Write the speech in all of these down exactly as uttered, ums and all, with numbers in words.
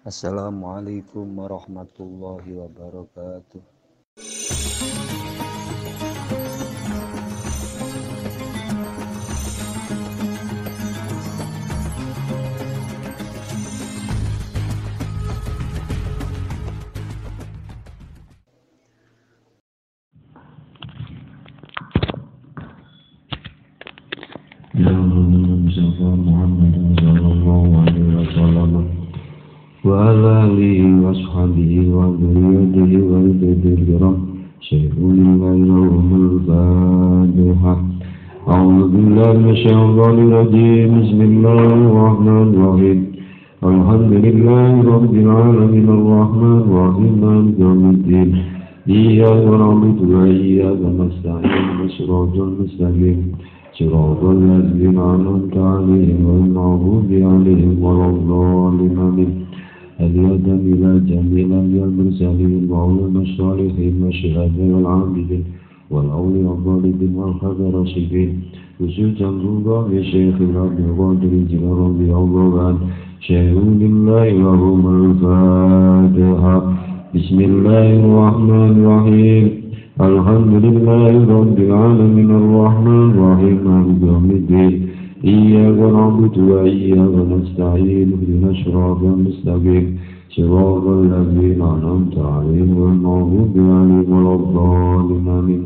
Assalamualaikum warahmatullahi wabarakatuh. Muhammad sallallahu alaihi wasallam wa ala alihi wa ashabihi wa dzurriyyatihi wa ibadihi kiram syaikhul lahumul fatihah. A'udzu billahi minasyaitonir rajim. Bismillahirrahmanirrahim. Alhamdulillahi rabbil alamin arrahmanir rahim maliki yaumiddin. Iyyaka na'budu wa iyyaka nasta'in ihdinas mustaqim صراط الذين أنعمت عليهم غير المغضوب عليهم ولا الضالين آمين. هدية إلى جميع الأنبياء المرسلين وعلماء الصالحين والشهداء والعابدين والأولياء الظالمين والخلفاء الراشدين خصوصا الله شيخ عبد القادر الجيلاني رضي الله عنه شيخ لله لهم الفاتحة. بسم الله الرحمن الرحيم. الحمد لله رب العالمين الرحمن الرحيم مالك يوم الدين. إياك نعبد وإياك نستعين اهدنا الصراط المستقيم صراط الذين أنعمت عليهم غير المغضوب عليهم ولا الضالين آمين.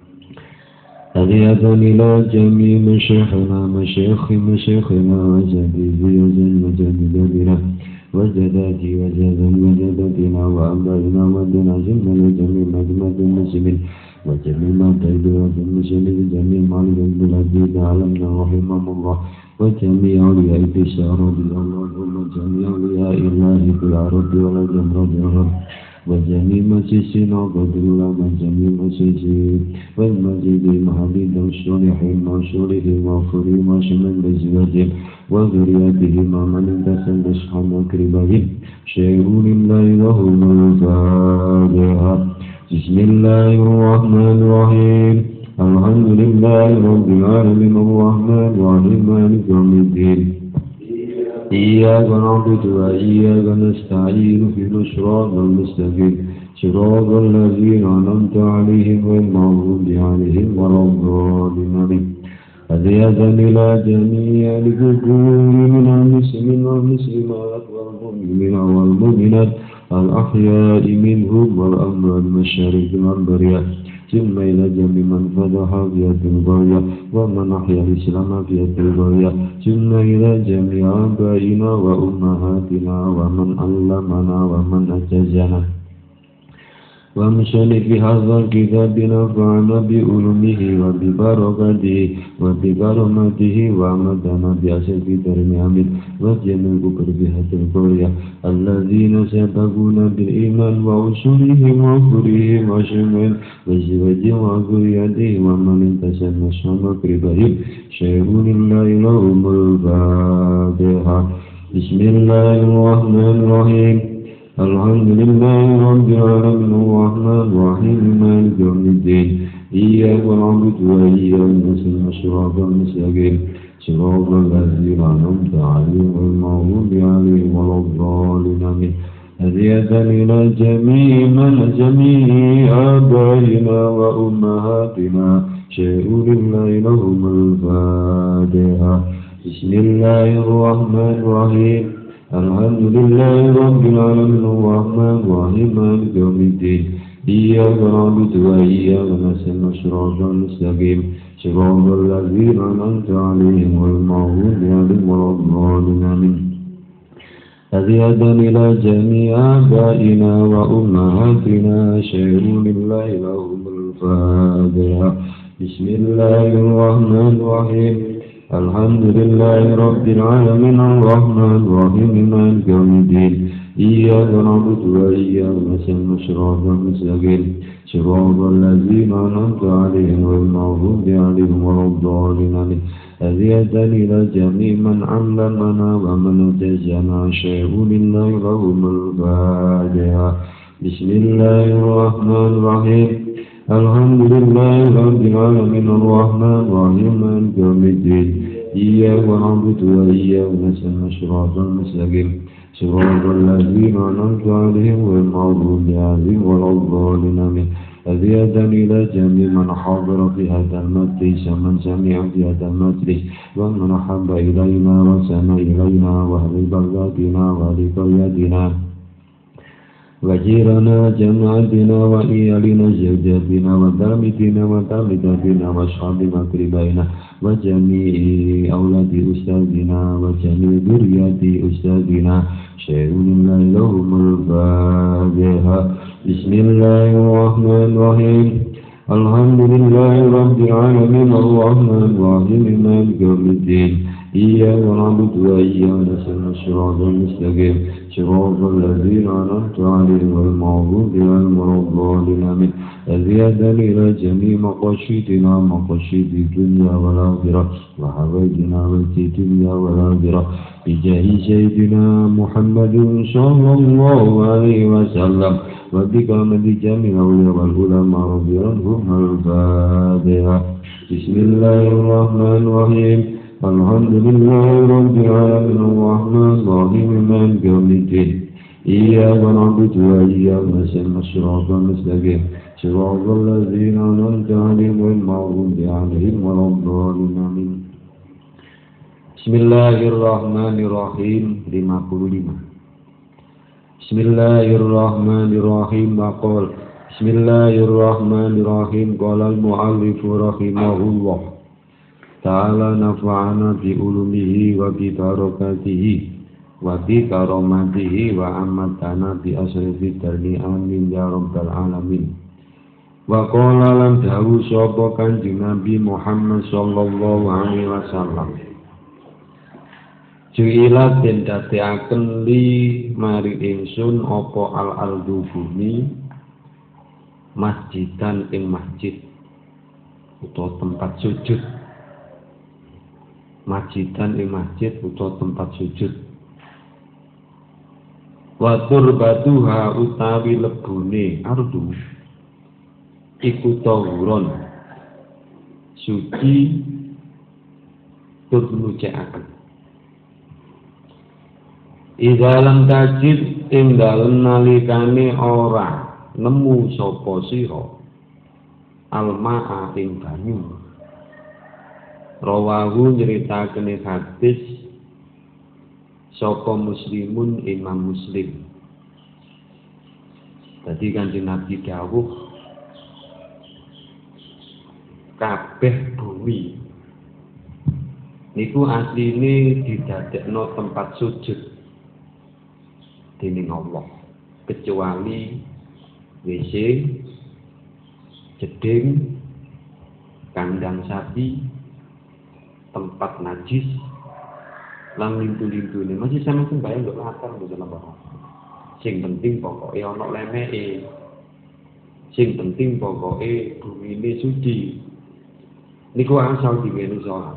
هدية إلى جميع مشايخنا مشايخ مشايخنا وجديدي وجديدنا وجداتي وجد وجدتنا وأبائنا ودنا جمع لجميع مجمع المسلمين وجميع تيدوات المسلمين جميع مالك البلاد عالمنا رحمهم الله وجميع أولياء البشارة اللهم جميع أولياء الله في العرب والجمرة الغرب وجميع مسيسين عبد الله وجميع مسيسين والمسجد المحمد الصالحين والصالحين والخيرين وشمل بزواجهم وذرياتهم ومن انتسب أصحاب أقربائهم شيخ لله لهم الفاتحة. بسم الله الرحمن الرحيم. الحمد لله رب العالمين الرحمن الرحيم مالك يوم الدين. إياك نعبد وإياك نستعين اهدنا الصراط المستقيم صراط الذين أنعمت عليهم غير المغضوب عليهم ولا الضالين آمين. هدية إلى جميع الذكور من المسلمين والمسلمات والمؤمنين والمؤمنات الأحياء منهم والأموات المشارق والبريات ثم إلى جميع من فتح في البرية ومن أحيا الإسلام في البرية ثم إلى جميع آبائنا وأمهاتنا ومن علمنا ومن أجازنا ومشان في هذا الكتاب نفعنا بعلومه وببركاته وبكرامته وأمدنا بأسف نعمه وجميع كربها القرية الذين سبقونا بالإيمان وأصولهم وفرهم وشمل وزواجهم وذريتهم ومن انتسب أصحاب أقربائهم شيخ لله لهم الفاتحة. بسم الله الرحمن الرحيم. الحمد لله رب العالمين الرحمن الرحيم مالك يوم الدين. إياك نعبد وإياك نستعين صراط المستقيم صراط الذين أنعمت عليهم غير المغضوب عليهم ولا الضالين آمين. هدية إلى جميع من جميع آبائنا وأمهاتنا شيخ لله لهم الفاتحة. بسم الله الرحمن الرحيم. الحمد لله رب العالمين الرحمن الرحيم مالك يوم الدين. إياك نعبد وإياك نستعين صراط المستقيم صراط الذين أنعمت عليهم غير المغضوب عليهم ولا الضالين آمين. هدية إلى جميع آبائنا وأمهاتنا شيخ لله لهم الفاتحة. بسم الله الرحمن الرحيم. الحمد لله رب العالمين الرحمن الرحيم مالك يوم الدين. إياك نعبد وإياك نستعين صراط المستقيم صراط الذين أنعمت عليهم غير المغضوب عليهم ولا الضالين آمين. هدية إلى جميع من علمنا ومن أجازنا شيخ لله لهم الفاتحة. بسم الله الرحمن الرحيم. الحمد لله رب العالمين الرحمن الرحيم مالك يوم الدين. إياك نعبد وإياك نستعين صراط المستقيم Siratal ladzina an'amta 'alaihim ghairil maghdubi 'alaihim waladdallin amin. هدية إلى جميع من حضر في هذا المجلس ومن سمع في هذا المجلس ومن أحب إلينا وسمع إلينا وأهل بلدنا وأهل قريتنا وجيرنا جماعتنا وإيالنا زوجاتنا وتلاميذنا وتلاميذاتنا وأصحاب مقربينا وجميع أولاد أستاذنا وجميع ذرية أستاذنا شيء لله لهم الفاتحة. بسم الله الرحمن الرحيم. الحمد لله رب العالمين الرحمن الرحيم مالك يوم الدين إياك نعبد وإياك نستعين الصراط المستقيم صراط الذين أنعمت عليهم غير المغضوب عليهم ولا الضالين آمين. هدية إلى جميع مقاصدنا مقاصد الدنيا والآخرة وحوائجنا في الدنيا والآخرة بجاه سيدنا محمد صلى الله عليه وسلم وبكرامة جميع الأولياء والعلماء رضي عنهم. الفاتحة. بسم الله الرحمن الرحيم. الحمد لله رب العالمين الرحمن الرحيم مالك يوم الدين إياك نعبد وإياك نستعين الصراط المستقيم صراط الذين أنعمت عليهم غير المغضوب عليهم ولا الضالين آمين. Bismillahirrahmanirrahim. lima puluh lima. Bismillahirrahmanirrahim. Maqal Bismillahirrahmanirrahim. Qala al-mu'allif rahimahullah ta'ala nafa'ana bi ulumihi wa bi barakatihi wa bi karamatihi wa amatana bi asrifi darni amin ya rabbal alamin. Wa qala lan dawu sapa Kanjeng Nabi Muhammad sallallahu alaihi wasallam, ju'ilat den dadekaken li mari ingsun apa al-ardu bumi masjidan ing masjid utawa tempat sujud, masjidan ing masjid utawa tempat sujud. Wa turbatuha utawi lebune ardu iku tawuron suci tur nucekaken. Idza lam tajid ing dalem nalikane ora nemu sapa sira almaa ing banyu. Rawahu nyritakene hadis saka Muslimun Imam Muslim. Dadi Kanjeng Nabi dawuh kabeh bumi niku asline didadekno tempat sujud dening Allah kecuali W C, jeding, kandang sapi, tempat najis, lan lintu-lintune. Masih sama sembayang ndok latar mboten apa. Sing penting pokoke ana lemeke. Sing penting pokoke bumine suci. Niku asal diweni salat.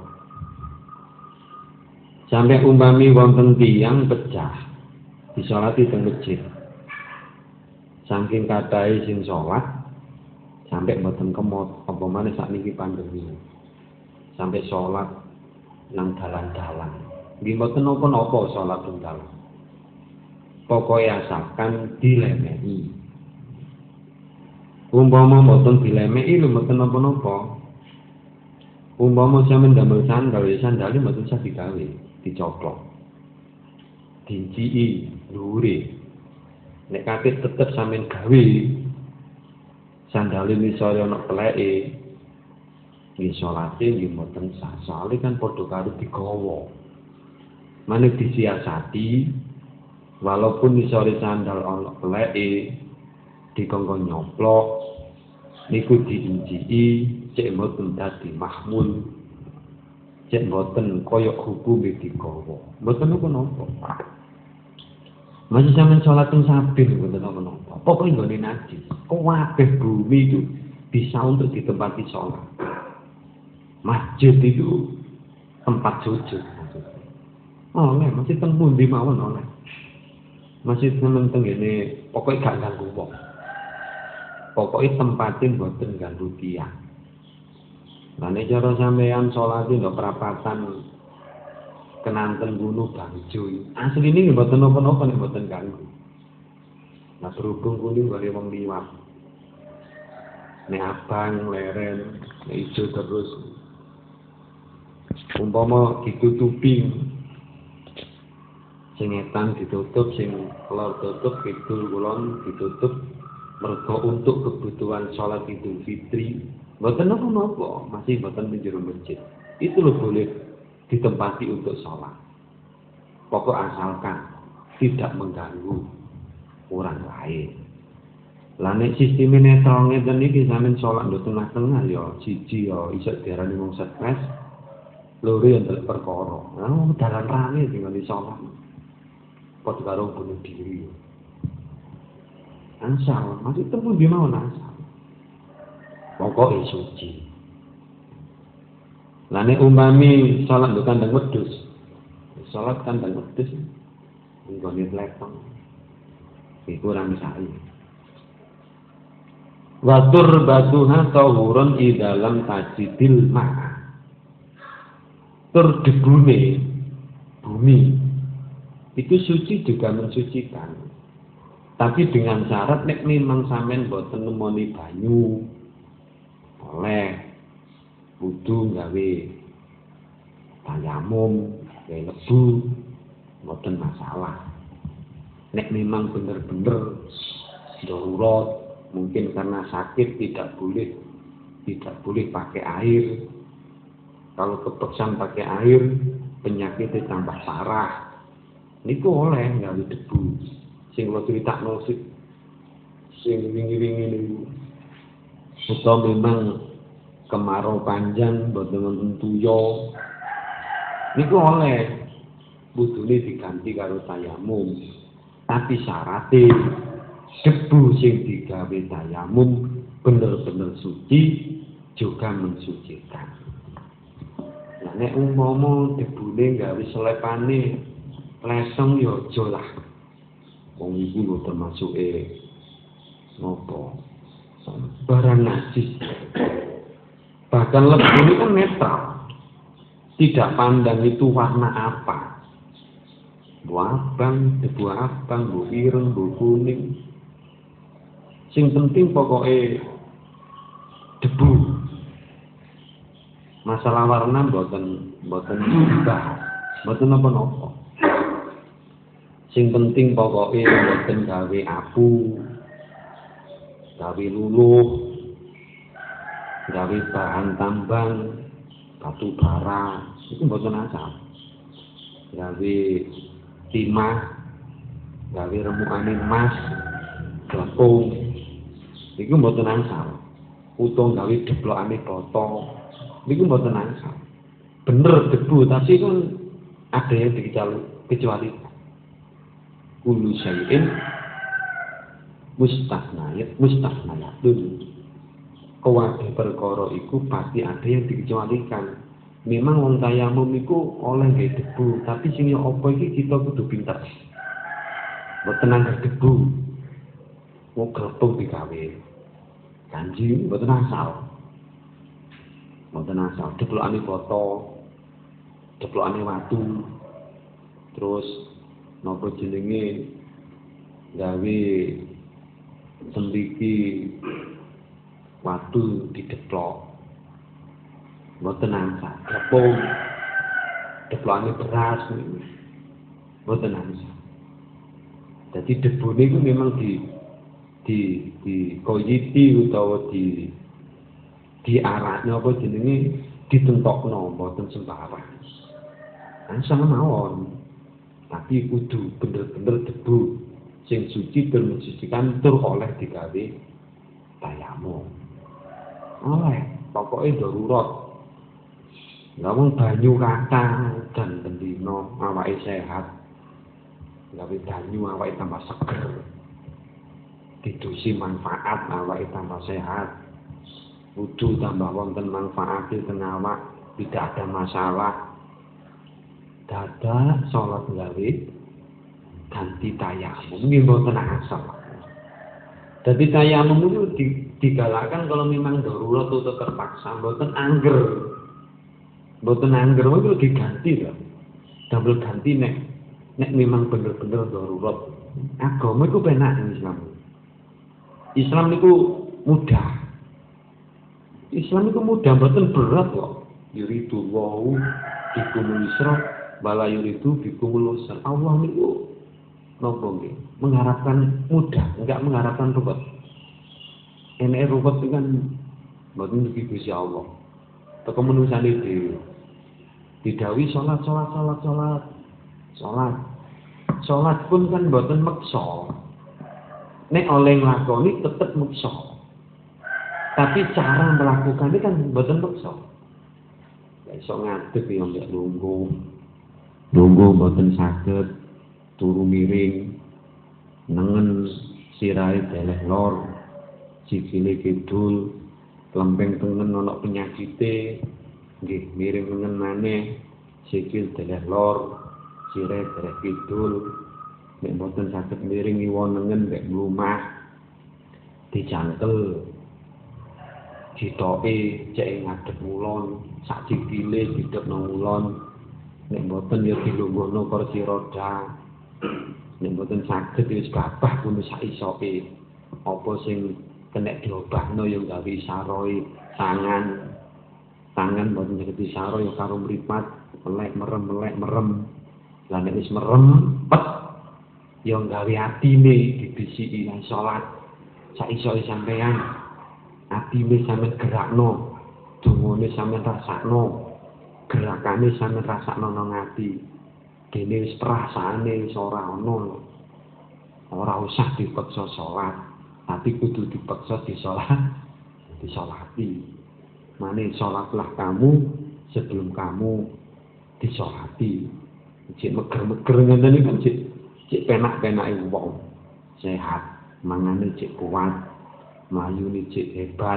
Sampai umpami wonten tiyang pecah disolati teng masjid. Saking katahe sing salat sampai mboten kemot apa maneh sakniki pandemi. Sampai salat nang dalan-dalan. Nggih mboten napa-napa salat teng dalan. Pokoke asalkan dilemehi. Umpama mboten dilemehi lho mboten napa-napa. Umpama sampeyan damel sandal, ya sandale mboten usah digawe, dicoplok. Dinciki dhuwure. Nek kate tetep sampeyan gawe sandale misale ana keleke, nggih salate nggih mboten sah. Soale kan padha karo digawa. Maneh disiasati walaupun misale sandal ana keleke dikongkon nyoplok niku diinciki cek mboten dadi mahmul, cek mboten kaya hukume digawa. Mboten napa-napa. Masih sampean salat teng sabil mboten napa-napa. Pokoke nggone najis. Kabeh bumi itu bisa untuk ditempati salat. Masjid itu tempat sujud. Oh, nek masih teng pundi mawon oleh. Masih temen teng ngene pokoke gak ganggu wong. Pokoke tempate mboten ganggu tiyang. Lah nek cara sampean salat ndok perapatan kenanten gunung Bangjo. Asli ini mboten napa-napa nek mboten ganggu. Nah berhubung kuning bari wong liwat. Nek abang leren, nek ijo terus. Umpama ditutupi sing etan ditutup, sing lor tutup, kidul kulon ditutup mergo untuk kebutuhan sholat Idul Fitri. Mboten napa-napa, masih mboten menjero masjid. Itu loh boleh ditempati untuk sholat. Pokok asalkan tidak mengganggu orang lain. Lah nek sistem netral ngeten iki sampeyan sholat nduk tengah-tengah ya siji ya iso diarani wong stres. Loro yang ndelok perkara. Nah, dalan rame dengan sholat. Padha karo bunuh diri. Ansal, masih temu di mau ansal. Pokoke suci. Lah nek umpami salat nduk kandang wedhus. Salat kandang wedhus nggone letong. Iku ora misai. Watur batuha tawurun i dalam tajidil ma'a. Tur debune bumi itu suci juga mensucikan. Tapi dengan syarat nek memang sampean boten nemoni banyu oleh kudu gawe tayamum, gawe lebu, mboten masalah. Nek memang bener-bener darurat, mungkin karena sakit tidak boleh tidak boleh pakai air. Kalau kepeksan pakai air, penyakitnya tambah parah. Niku oleh gawe debu. Sing kula critakno sing wingi-wingi niku. Utawa memang kemarau panjang boten wonten tuyo niku oleh budune diganti karo tayamum tapi syaratnya debu sing digawe tayamum bener-bener suci juga mensucikan. Nah nek umpama debune gawe selepane leseng ya aja lah wong iku lho termasuke nopo barang najis. Bahkan lebu ini kan netral. Tidak pandang itu warna apa. Bu abang, debu abang, bu ireng, bu kuning. Sing penting pokoknya debu. Masalah warna mboten mboten dibahas. Mboten napa-napa. Sing penting pokoknya mboten gawe abu, gawe luluh, gawe bahan tambang, batu bara, itu mboten asal. Gawe timah, gawe remukane emas, glepung, itu mboten asal. Utung gawe deblokane botol, itu mboten asal. Bener debu, tapi kan ada yang dikecualikan. Kullu syai'in mustasnayat, mustasnayatun. Kabeh perkara iku pasti ada yang dikecualikan. Memang wong tayamum iku oleh nggih debu, tapi sing yo apa iki kita kudu pinter. Mboten nangger debu. Wong glepung digawe. Kanji mboten asal. Mboten asal deplokane foto, deplokane watu. Terus napa jenenge gawe sendiki watu dideplok mboten angsa glepung deplokane beras mboten angsa. Dadi debu niku memang di di di koyiti utawa di di arahnya apa jenenge ditentokno mboten sembarang. Angsa mawon. Tapi kudu bener-bener debu sing suci dan mensucikan tur oleh digawe tayamum. Oleh, pokoknya darurat. Ngomong banyu kata dan bendino awake sehat. Gawe banyu awake tambah seger. Didusi manfaat awake tambah sehat. Wudu tambah wonten manfaat teng awak, tidak ada masalah. Dada sholat gawe ganti tayamum nggih mboten asal. Dadi tayamum itu digalakkan kalau memang darurat atau terpaksa, mboten angger. Mboten angger itu diganti lho. Double ganti nek nek memang bener-bener darurat. Agama itu penak Islam. Islam itu mudah. Islam itu mudah, mboten berat kok. Yuridu wau bikumul yusra wala yuridu bikumul usra. Allah niku napa nggih? Mengharapkan mudah, enggak mengharapkan ruwet. Enek ruwet itu kan mboten iki Gusti Allah. Teko menungsane dhewe. Didhawuhi salat salat salat salat. Salat. Salat pun kan mboten meksa. Nek oleh nglakoni tetep meksa. Tapi cara melakukannya kan mboten meksa. Ya iso ngadeg ya mbek lungguh. Lungguh mboten saged turu miring. Nengen sirahe deleh lor. Sikile kidul, lempeng tengen ana penyakite. Nggih, miring nengen maneh. Sikil deleh lor, sirahe deleh kidul. Nek mboten saged miring iwa nengen mek mlumah. Dicangkel. Ditoke cek ngadeg ngulon, sak sikile didhep nang ngulon. Nek mboten ya dilungguhno kursi roda. Nek mboten saged wis babah kuwi sak isoke. Apa sing kena diobahno ya gawe saroe tangan. Tangan mboten saged disaro ya karo mripat, melek merem melek merem. Lah nek wis merem, pet ya gawe atine dibisiki lan salat. Sak isoke sampean. Atine sampeyan gerakno, dungane sampeyan rasakno, gerakane sampeyan rasakno nang ati. Dene wis perasaane wis ora ana. Ora usah dipaksa salat, tapi kudu dipaksa disalat, disalati. Mane salatlah kamu sebelum kamu disalati. Cek meger-meger ngene iki kan cek cek penak-penake wong. Sehat, mangane cek kuat. Melayu cek hebat.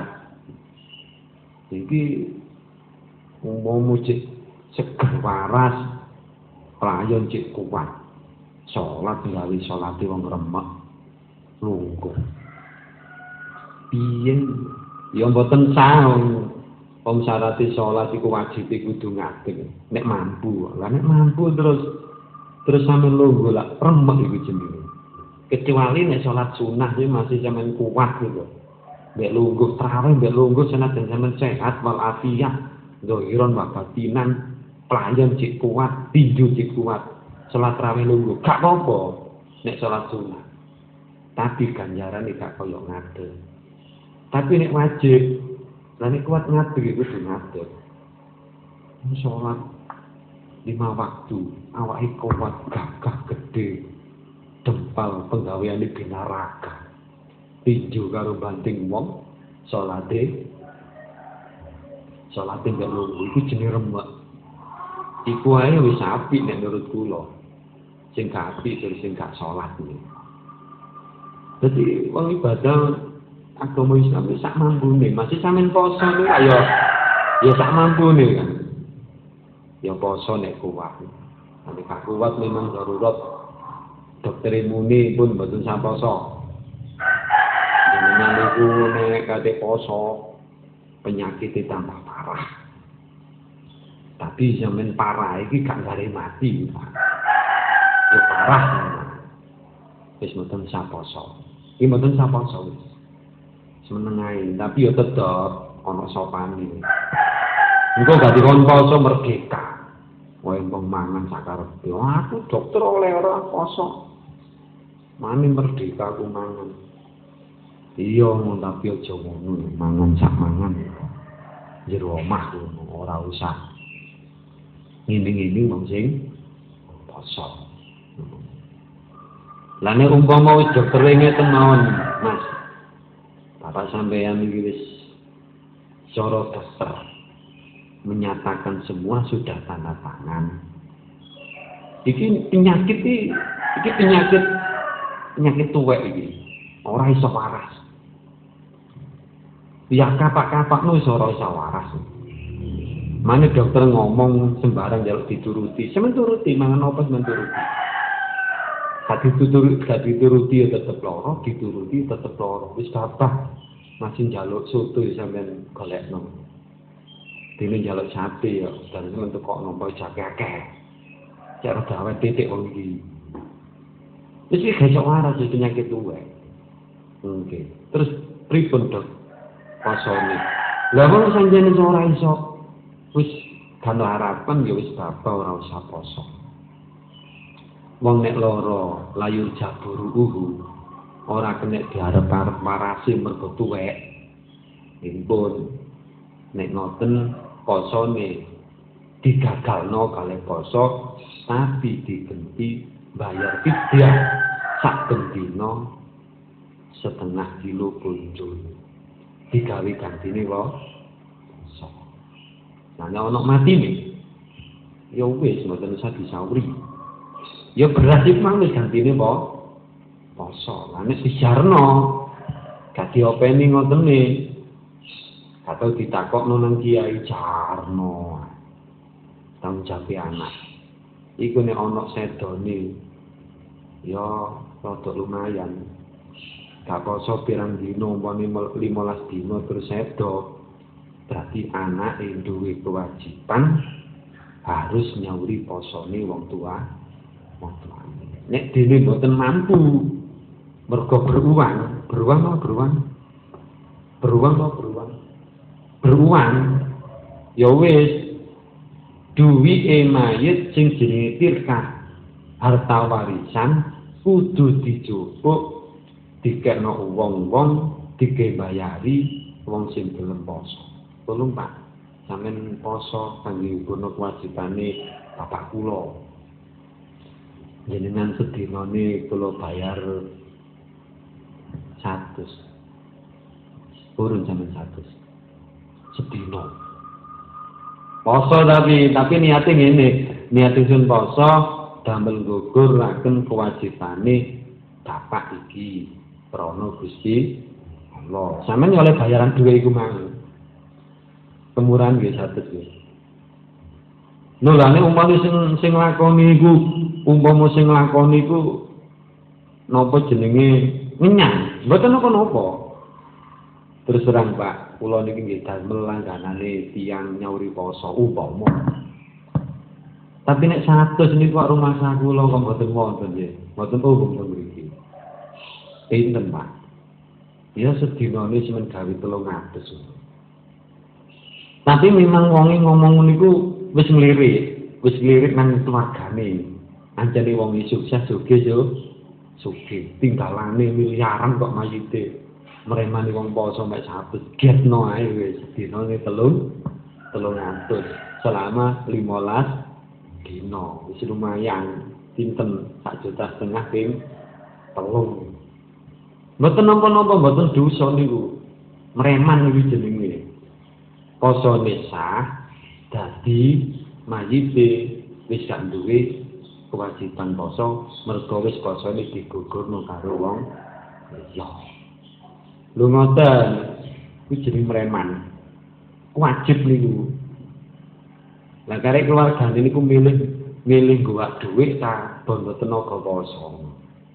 Iki umummu cek seger waras, pelayan cek kuat. Salat gawe salate wong remek, lungguh. Piye ya mboten sah wong syarate salat iku wajib kudu ngadeg. Nek mampu, lah nek mampu terus terus sampe lungguh lah remek iku jenenge. Kecuali nek salat sunah iki masih sampean kuat gitu. Mbek lungguh tarawih, mbek lungguh senajan sampean sehat wal afiyah, zahiran wa batinan, pelayan cek kuat, tinju cek kuat, salat tarawih lungguh, gak apa-apa nek salat sunah. Tapi ganjarane gak koyo ngadeg. Tapi nek wajib, lah nek kuat ngadeg iku kudu ngadeg. Salat lima waktu, awake kuat, gagah gede, dempal penggaweane binaraka. Tinju karo banting wong salate salate gak lungguh iku jenenge remek. Iku ae wis apik nek menurut kula. Sing gak apik terus sing gak salat iki. Dadi wong ibadah agama Islam sak mampune, masih sampean poso niku ayo ya sak mampune kan. Ya poso nek kuat. Nek gak kuat memang darurat. Dokter muni pun mboten sak poso. Jenengan iku nek kate poso penyakit tambah parah. Tapi sampean parah iki gak gare mati, Pak. Ya parah. Wis mboten sak poso. Iki mboten sak poso wis. Semeneng ae, tapi ya tetep ana sopane. Engko gak dikon poso merdeka. Wae mbong mangan sakarepe. Aku dokter oleh ora poso. Mane merdeka aku mangan. Iya, tapi aja ngono, mangan sak mangan. Jero omah ora usah. Ngene-ngene wong sing poso. Lah nek umpama wis dokter ngeten mawon, Mas. Bapak sampeyan iki wis cara dokter menyatakan semua sudah tanda tangan. Iki penyakit iki, iki penyakit penyakit tuwek iki. Ora iso waras. Ya kapak-kapak nu iso ora iso waras. Mane dokter ngomong sembarang njaluk dituruti. Semen turuti mangan opo semen turuti. Gak dituruti, gak dituruti ya tetep loro, dituruti tetep loro. Wis babah masih njaluk soto sampean golekno. Dene njaluk sate ya, dan semen tukok nompo jake akeh. Cara dawet titik wong iki. Wis iki gak iso waras penyakit tuwek. Oke. Terus pripun, Dok? Posone. Lah wong sanjane ora iso wis kan harapan ya wis bapak ora usah poso. Wong nek lara layu jaburu uhu ora kena diarep-arep marasi mergo tuwek. Impun nek ngoten posone digagalno kalih poso tapi digenti bayar fidyah sak bendina setengah kilo kunjul digawe gantine wae poso. Nah nek ana matine ya wis mboten usah disauri. Ya beras iki mang wis gantine wae poso. Lah nek dijarno gak diopeni ngotene atau ditakokno nang kiai jarno. Tanggung jawab anak. Iku nek ana sedone ya rada lumayan. Gak poso pirang dina umpame limolas dina terus sedo. Berarti anak duwe kewajiban harus nyauri posone wong tua. Wong tuane. Nek dene mboten mampu mergo beruang, beruang apa beruang? Beruang apa beruang? Beruang. Ya wis duwike mayit sing jenenge tirkah harta warisan kudu dijupuk dikekno wong-wong digembayari wong sing gelem poso. Tolong Pak, sampeyan poso kangge ngono kewajibane bapak kula. Jenengan sedinane kula bayar seratus. Purun sampeyan seratus. Sedina. Poso tapi tapi niate ngene, niate sun poso damel guguraken kewajibane bapak iki krana Gusti Allah. Sampeyan oleh bayaran dhuwit iku mang. Kemurahan nggih seratus nggih. Nolane umpama sing sing lakoni iku, umpama sing lakoni iku napa jenenge ngenyang, mboten napa-napa. Terus terang Pak, kula niki nggih damel langganane tiyang nyauri poso umpama. Tapi nek seratus niku kok rumah sak kula kok mboten wonten nggih. Mboten umum teng mriki. Pinten Pak? Ya sedinane semen gawe telung atus. Tapi memang wonge ngomong niku wis nglirik, wis nglirik nang keluargane. Anjane wong sukses sugih yo sugih. Tinggalane miliaran kok mayite. Meremani wong poso mek seratus getno ae wis dinane telung telung atus selama limolas dina wis lumayan pinten sak juta setengah ping telung mboten napa-napa mboten dosa niku mereman iki jenenge posone sah dadi mayite wis gak duwe kewajiban poso mergo wis posone digugurno karo wong liya. Lho ngoten, kuwi jeneng mereman. Wajib niku. Lah karek keluargane niku milih milih gowak dhuwit ta bondo tenaga poso.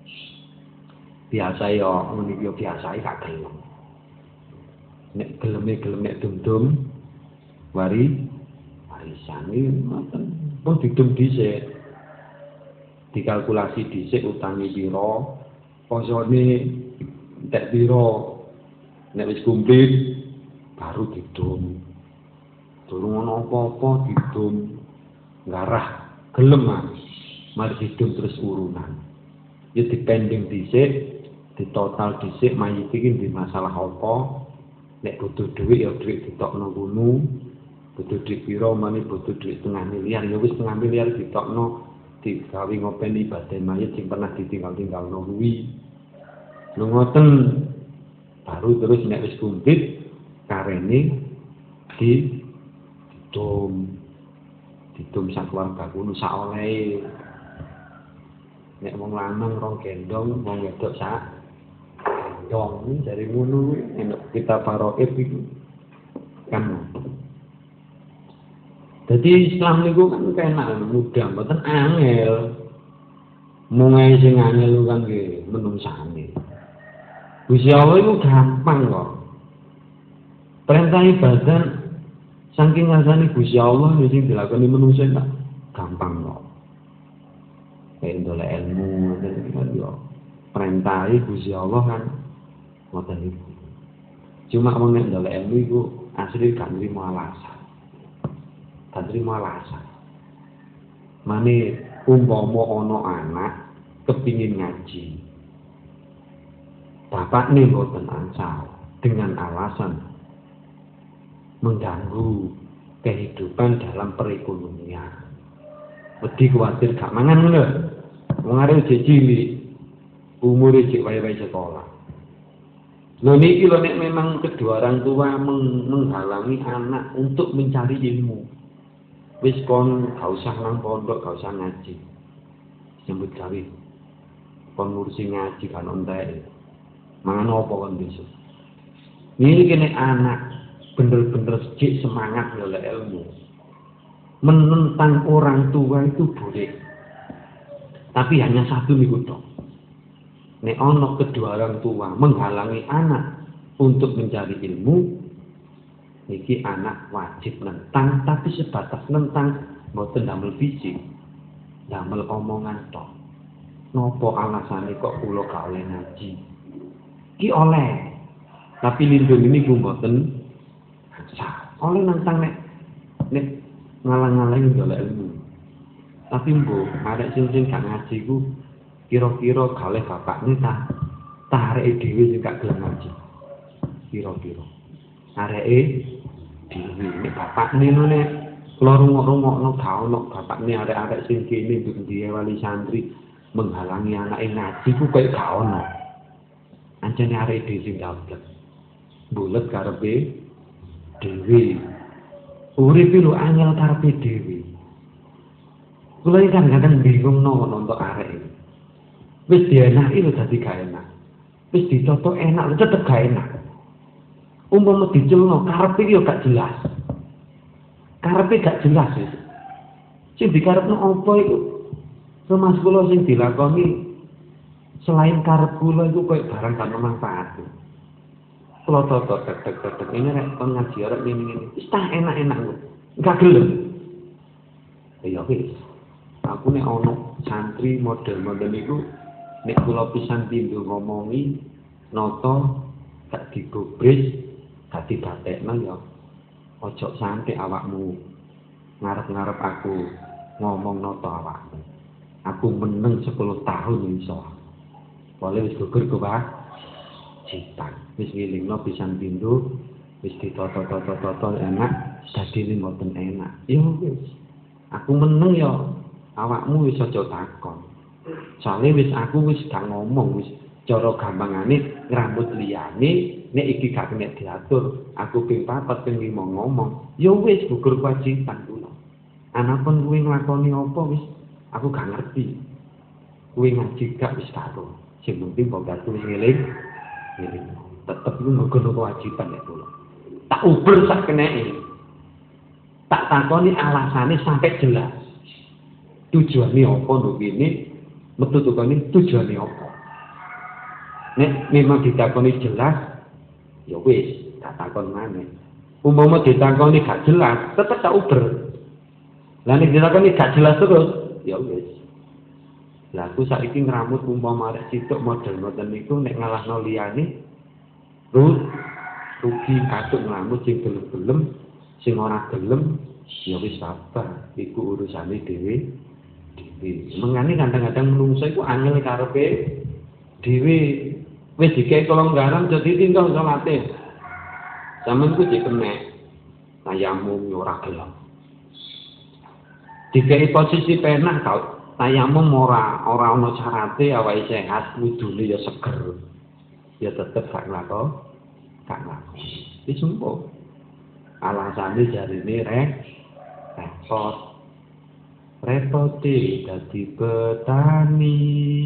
Biasa ya ngono iki biasa gak gelem. Nek geleme-gelem nek dum-dum wari warisan iki ngoten. Pun didum dhisik. Dikalkulasi dhisik utange pira, posone entek pira. Nek wis kumplit baru didum. Durung ana apa-apa didum. Ngarah gelem mas. Mari didum terus urunan. Ya dipending dhisik, ditotal dhisik mayit iki ndek masalah apa. Nek butuh dhuwit ya dhuwit ditokno ngono. Butuh dhuwit pira mane butuh dhuwit setengah miliar ya wis setengah miliar ditokno digawe ngopeni badan mayit sing pernah ditinggal-tinggalno kuwi. Lho ngoten baru terus nek wis kumplit karene di didum didum sak keluarga kuno sak olehe nek wong lanang rong gendong wong wedok sak gendong dari ngono enak kita paroib iku kan. Jadi Islam niku kan kenak mudah mboten angel. Mungae sing angel kan nggih menungsane. Gusti Allah itu gampang kok. Perintah ibadah saking ngasani Gusti Allah sing dilakoni manusia tak gampang kok. kayak ndolek ilmu dan kan yo perintahe Gusti Allah kan ngoten niku. Cuma wong nek ndolek ilmu iku asli gak nrimo alasan. Gak nrimo alasan. Mane umpama ana anak kepingin ngaji. Bapak nih mboten angsal dengan alasan mengganggu kehidupan dalam perekonomian. Wedi kuwatir gak mangan lho. Wong arep jek cilik, umure jek wae-wae sekolah. Lho niki lho nek memang kedua orang tua meng menghalangi anak untuk mencari ilmu. Wis kon gak usah nang pondok, gak usah ngaji. Sambut gawe. Kon ngurusi ngaji kan entek. Mangan apa kon besok. Niki nek anak bener-bener jek semangat golek ilmu. Menentang orang tua itu boleh, tapi hanya satu niku tok. Nek ana kedua orang tua menghalangi anak untuk mencari ilmu, niki anak wajib nentang, tapi sebatas nentang, mboten damel fisik, damel omongan tok. Nopo alasane kok kula gak oleh ngaji? Ki oleh, tapi lindung ini ku mboten sah. Oleh nentang nek nek ngalang-alangi golek ilmu. Tapi mbok arek sing sing gak ngaji ku kira-kira kalih bapakne ta tareke dhewe sing gak gelem ngaji. Kira-kira areke dhewe nek bapakne nek kula rungok-rungokno gak ono bapakne arek-arek sing kene ndi wali santri menghalangi anake ngaji ku koyo gak ono. Ancene areke dhewe sing dablek. Bulet karepe dhewe. Urip lu angel karepe dhewe. Kula iki kadang-kadang bingung no nonton arek iki. Wis dienaki lho dadi gak enak. Wis ditoto enak lho tetep gak enak. Umpama dicelno karepe yo gak jelas. Karepe gak jelas wis. Sing dikarepno apa iku? Semas kula sing dilakoni selain karep kula iku koyo barang kan manfaat. Kalau toto tek-tek-tek ini rek kon ngaji arek ngene-ngene. Wis tak enak-enak kok. Enggak gelem. Ya wis. Aku nek ono santri model-model iku nek kula pisan pindho ngomongi nata gak digobres, gak dibatekno ya. Ojo santai awakmu. Ngarep-ngarep aku ngomong nata awakmu. Aku meneng sepuluh tahun iso. Boleh wis gugur kok, Pak. Citan. Wis ngilingno pisan pindho, wis ditoto-toto-toto enak, dadi mboten enak. Ya wis. Aku meneng ya, awakmu wis aja takon. Soale wis aku wis gak ngomong, wis cara gampangane ngrambut liyane, nek iki gak kena diatur, aku ping papat ping lima ngomong. Ya wis gugur kewajiban kula. Anapun kuwi nglakoni apa wis aku gak ngerti. Kuwi ngaji gak wis karo. Sing penting bongkarku wis ngiling. Ngiling. Tetep iku nggono kewajiban ya kula. Tak uber sak keneke. Tak takoni alasane sampai jelas. Tujuane apa lho kene? Metu tukane tujuane apa? Nek memang ditakoni jelas, ya wis, tak takon maneh. Umpama ditakoni gak jelas, tetep tak uber. Lah nek ditakoni gak jelas terus, ya wis. Lah aku saiki ngramut umpama arek sitok model-model niku nek ngalahno liyane Rut, rugi atuk nglamut sing gelem-gelem, sing ora gelem, ya wis sabar, iku urusane dhewe. Dhewe. Mengane kadang-kadang menungso iku angel karepe dhewe. Wis dikek kelonggaran dadi tinggal salate. Sampeyan ku dikenek tayamum ora gelem. Dikek posisi penak tau tayamum ora ora ana syarate awake sehat, wudune ya seger. Ya tetep gak nglakon, gak nglakon. Wis sumpah. Alasane jarine rek repot. Repote dadi petani.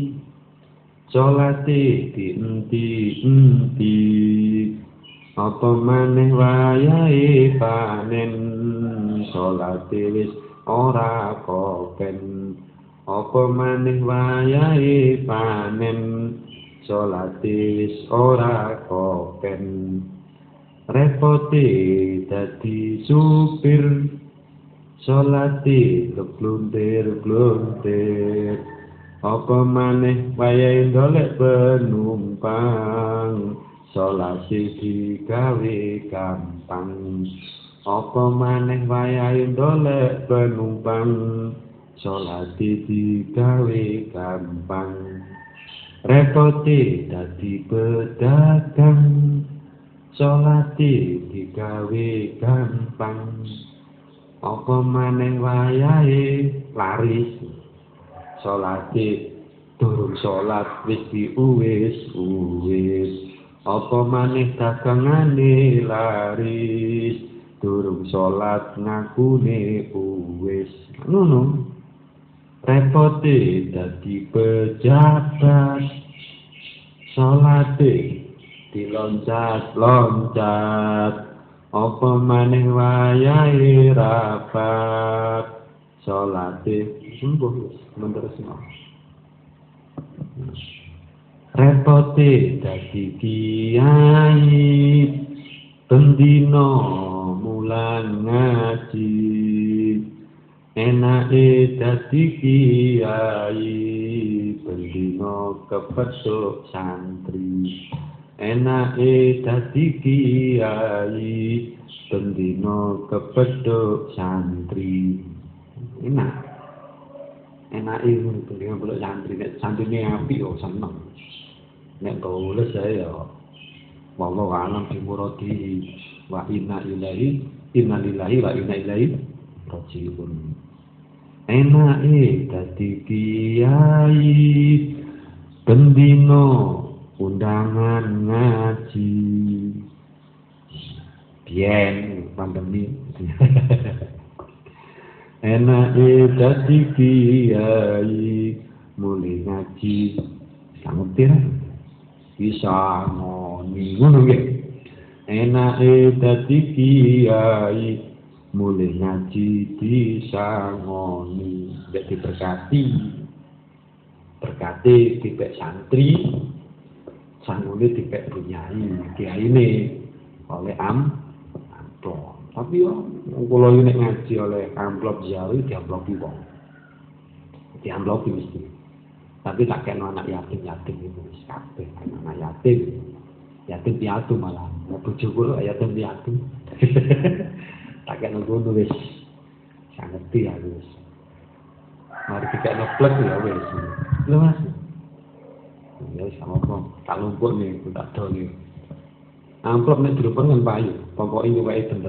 Salate dienti-enti. Apa maneh wayahe panen. Salate wis ora kopen. Apa maneh wayahe panen. Salate wis ora kopen. Repote dadi supir. Salate gluntir-gluntir. Apa maneh wayahe ndolek penumpang, salate digawe gampang. Apa maneh wayahe ndolek penumpang, salate digawe gampang. Repote dadi pedagang, salate digawe gampang. Apa maneh wayahe laris, salate durung salat wis diuwis-uwis. Apa maneh dagangane laris, durung salat ngakune uwis. Ngono. Repote dadi pejabat, salate diloncat-loncat. Apa maneh wayahe rapat, salate sembuh menerusno. Repote dadi kiai, bendina mulang ngaji. Enake dadi kiai, bendina kepethuk santri. Enake dadi kiai, bendina kepethuk santri. Enak. Enake ngono bendina kepethuk santri, nek santrine apik yo seneng. Nek kaules saya wallahu a'lam bimuradi wa inna ilaihi inna lillahi wa inna ilaihi raji'un. Enake dadi kiai, bendina undangan ngaji. Biyen pandemi. Enake dadi kiai, mulai ngaji sangetir bisa ngoni ngono nggih. Enake dadi kiai, mulai ngaji disangoni, nek diberkati, berkati dipek santri, sangone dipek bunyai, kiyaine oleh am amplop. Tapi yo kula nek ngaji oleh amplop jawi diamplopi wong. Diamplopi mesti. Tapi tak kena anak yatim-yatim itu wis kabeh anak yatim. Yatim piatu malah. Bojo kula yatim piatu. Tak kena ngono wis. Sak ngerti aku wis. Mari kita ngeplek ya wis. Lho Mas. Ya wis apa tak lumpur nih tak do nih. Amplop nek drupen kan payu, pokoke nyuweke bener.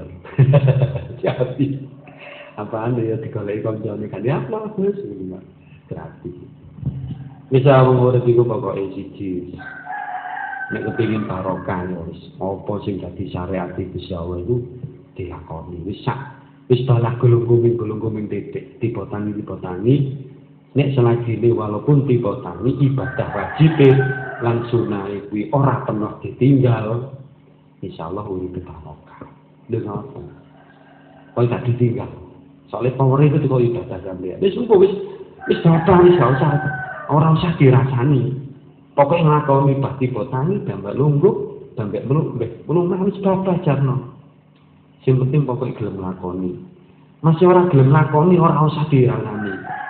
Jadi apaan ya digoleki kancane kan ya amplop wis gratis. Bisa mengurus iku pokoke siji. Nek kepengin barokah ya wis apa sing dadi syariat Gusti Allah iku dilakoni wis sak wis balah gulung-gulung titik dipotangi-dipotangi nek selagine walaupun dipotangi ibadah wajib lan sunah kuwi ora pernah ditinggal insyaallah urip barokah dengan apa kok gak ditinggal soalnya power itu kok ibadah sampeyan wis engko wis wis batal wis gak usah ora usah dirasani pokoknya nglakoni ibadah dipotangi dambak lungguh dambak meluk meluk wis batal jarno. Sing penting pokoknya gelem lakoni. Masih orang gelem lakoni ora usah dirasani.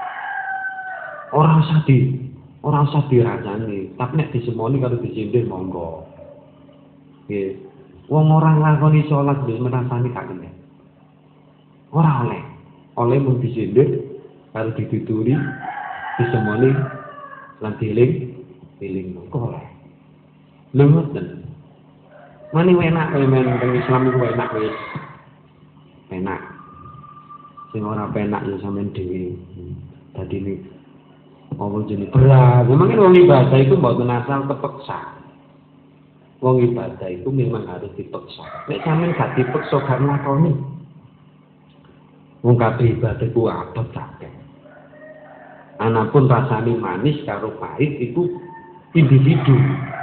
Ora usah di, ora usah dirasani. Tapi nek disemoni karo disindir monggo. Nggih. Wong ora lakoni salat wis merasani gak kena. Ora oleh. Oleh mung disindir karo dituturi disemoni lan dieling eling monggo oleh. Lha ngoten. Mane enak kaya men teng Islam iku enak wis. Enak. Sing ora penak ya sampean dhewe. Dadi ini apa jenenge berat. Memang wong ibadah itu mboten asal kepeksa. Wong ibadah itu memang harus dipeksa. Nek sampean gak dipeksa gak nglakoni. Wong kabeh ibadah ku abot kabeh. Anapun rasane manis karo pahit itu individu.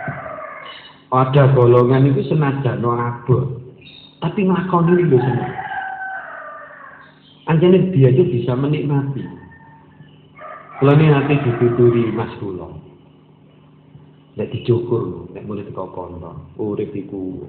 Ada golongan itu senajan abot, tapi nglakoni lho seneng. Anjane dia itu bisa menikmati. Kula ini nanti dituturi Mas kula. Nek dicukur, nek mulai teko kono, urip iku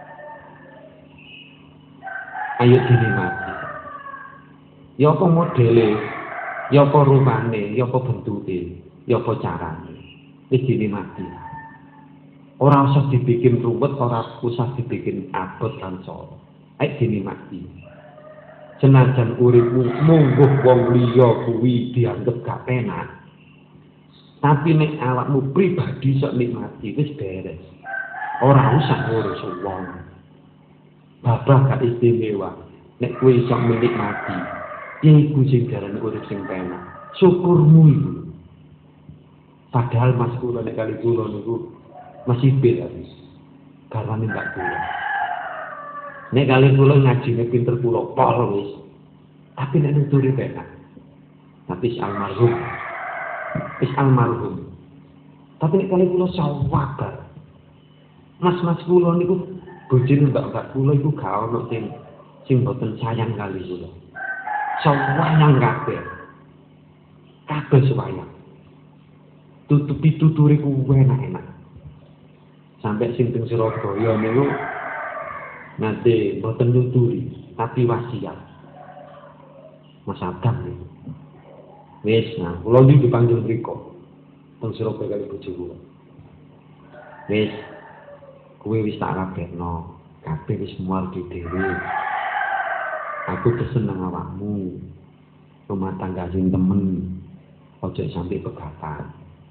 ayo dinikmati. Ya apa modele, ya apa rupane, ya apa bentuke. Ya apa carane? Wis dinikmati. Ora usah dibikin ruwet, ora usah dibikin abot lan soro. Ayo dinikmati. Senajan uripmu mungguh wong liya kuwi dianggep gak penak. Tapi nek awakmu pribadi sok nikmati wis beres. Ora usah ngurus wong. Babah gak istimewa. Nek kowe iso menikmati, iku sing jarane urip sing penak. Syukurmu iku. Padahal mas kula nek kali kula niku masih beda wis. Karwane ndak kula. Nek kali kula ngajine pinter kula pol wis. Tapi nek nuturi penak. Tapi si almarhum. Wis almarhum. Tapi nek kali kula sawabar. Mas-mas kula niku bojone mbak-mbak kula iku gak ono sing sing boten sayang kali kula. Sayang kabeh. Kabeh sayang. Tutupi tuturi ku enak-enak. Sampai sing teng Surabaya niku nanti boten nuturi, tapi wasiat. Mas Adam niku. Wis, nah, kula iki dipanggil mriko. Teng Surabaya kali bojo kula. Wis, kowe wis tak rabekno, kabeh wis mual dhewe. Aku pesen nang awakmu. Rumah tangga sing temen. Ojo sampai pegatan.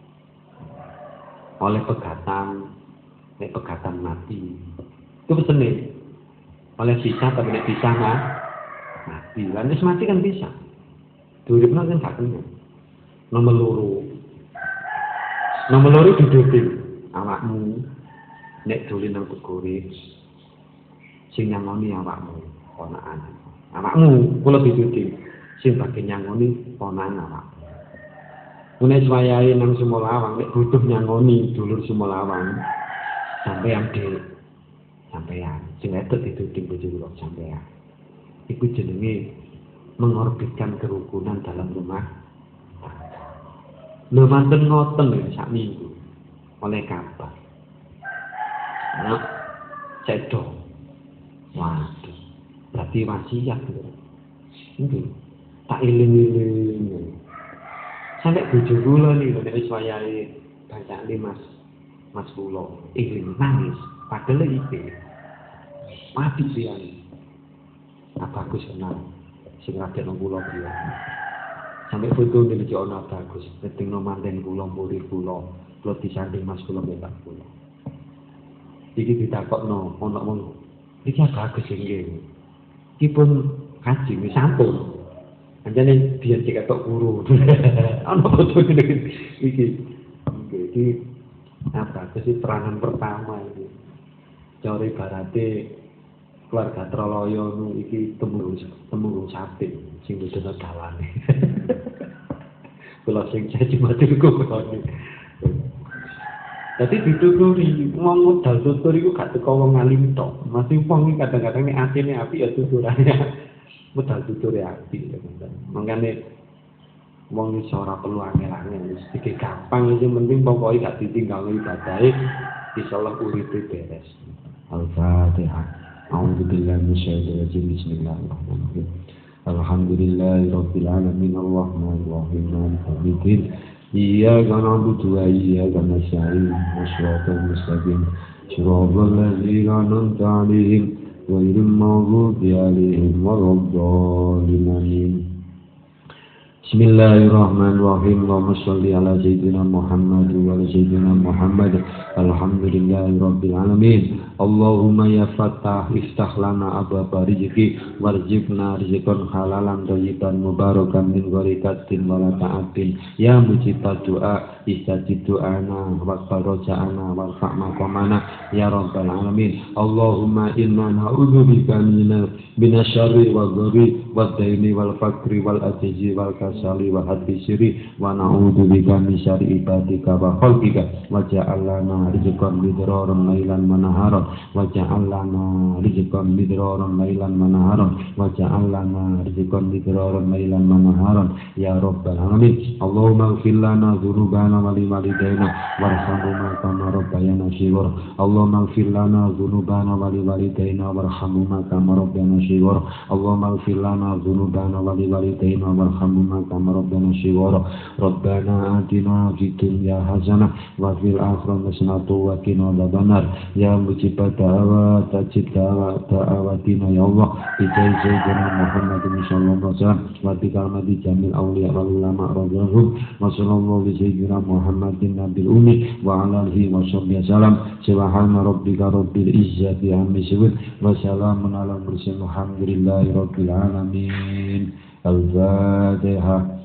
Oleh pegatan, nek pegatan mati. Itu pesene. Oleh bisa tapi nek bisa mah mati. Lan wis mati kan bisa. Duripno kan gak kena. Nomor loro. Nomor loro diduting awakmu nek dolen nang tegore sing nyangoni awakmu ponakan. Awakmu kula diduting sing bagian nyangoni ponakan awakmu. Nek wayahe nang Sumolawang nek butuh nyangoni dulur Sumolawang sampeyan dhewe. Sampeyan sing wedok diduting bojo kula sampeyan. Iku jenenge mengorbitkan kerukunan dalam rumah tangga. Lho manten ngoten lho sak minggu oleh kabar. Nah, cedok. Waduh. Berarti wasiat lho. Nggih. Tak iling-iling. Sampai bojo kula niku nek wis wayahe bacane Mas Mas kula iling nangis padahal iki mati pian. Apa bagus kenal sing radene kula pian. Sampai foto iki ana bagus ketingno manten kula murid kula kula disanding Mas kula mbek kula. Iki ditakokno ana wong iki bagus nggih. Iki pun kaji wis sampun. Anjane biyen diketok guru. Ana foto iki iki. Iki apa? Itu perangan pertama ini. Cari barate keluarga Troloyo nu iki temurun temurun sate sing dene dalane. Kula sing jadi matur kok. Dadi dituturi wong modal tutur iku gak teko wong alim tok. Masih wong kadang-kadang nek atine apik ya tuturane. Modal tuture apik ya teman. Mangkane wong iso ora perlu angel-angel wis iki gampang iki penting pokoke gak ditinggal ibadahe insyaallah uripe beres. Al-Fatihah. A'udzubillahi minasyaitonir rajim. Bismillahirrahmanirrahim. Alhamdulillahirabbil alamin arrahmanir rahim maliki yaumiddin. Iyyaka na'budu wa iyyaka nasta'in. Shiratal mustaqim. Shiratal ladzina an'amta 'alaihim ghairil maghdubi 'alaihim waladdallin. Bismillahirrahmanirrahim. Allahumma shalli ala sayyidina Muhammad wa ala sayyidina Muhammad. Alhamdulillahirabbil alamin. Allahumma ya Fattah iftah lana abwaaba rizqi warzuqna rizqan halalan thayyiban mubarakan min ghairi kasbin wala ta'atin. Ya mujibad du'a istajib du'ana waqbal raja'ana warfa' maqamana ya rabbal alamin. Allahumma inna na'udzubika minasyarri wal dharri wad daini wal faqri wal ajzi wal kasali wa hadbi sirri wa na'udzubika min syarri ibadika wa khalqika wa ja'alna rizqan midraran lailan wa naharan wa ja'alna rizqan midraran lailan wa naharan wa ja'alna rizqan midraran lailan wa naharan ya rabbal alamin. Allahumma ighfir lana dzunubana lana wa li walidayna warhamhuma kama rabbayana shighara. Allahumma ighfir lana dhunubana wa li walidayna warhamhuma kama rabbayana shighara. Allahumma ighfir lana dhunubana wa li walidayna warhamhuma kama rabbayana shighara. Rabbana atina fid dunya hasanah wa fil akhirati hasanah wa qina adzabannar. Ya mujibad da'awat tajib da'awat da'awatina ya Allah bi sayyidina Muhammadin sallallahu alaihi wasallam wa bi karamati jamil awliya wal ulama radhiyallahu wa sallallahu bi sayyidina Muhammadin nabil ummi wa ala alihi wa sahbihi wasallam. Subhana rabbika rabbil izzati amma yasifun wa salamun alal mursalin walhamdulillahi rabbil alamin. Al-Fatihah.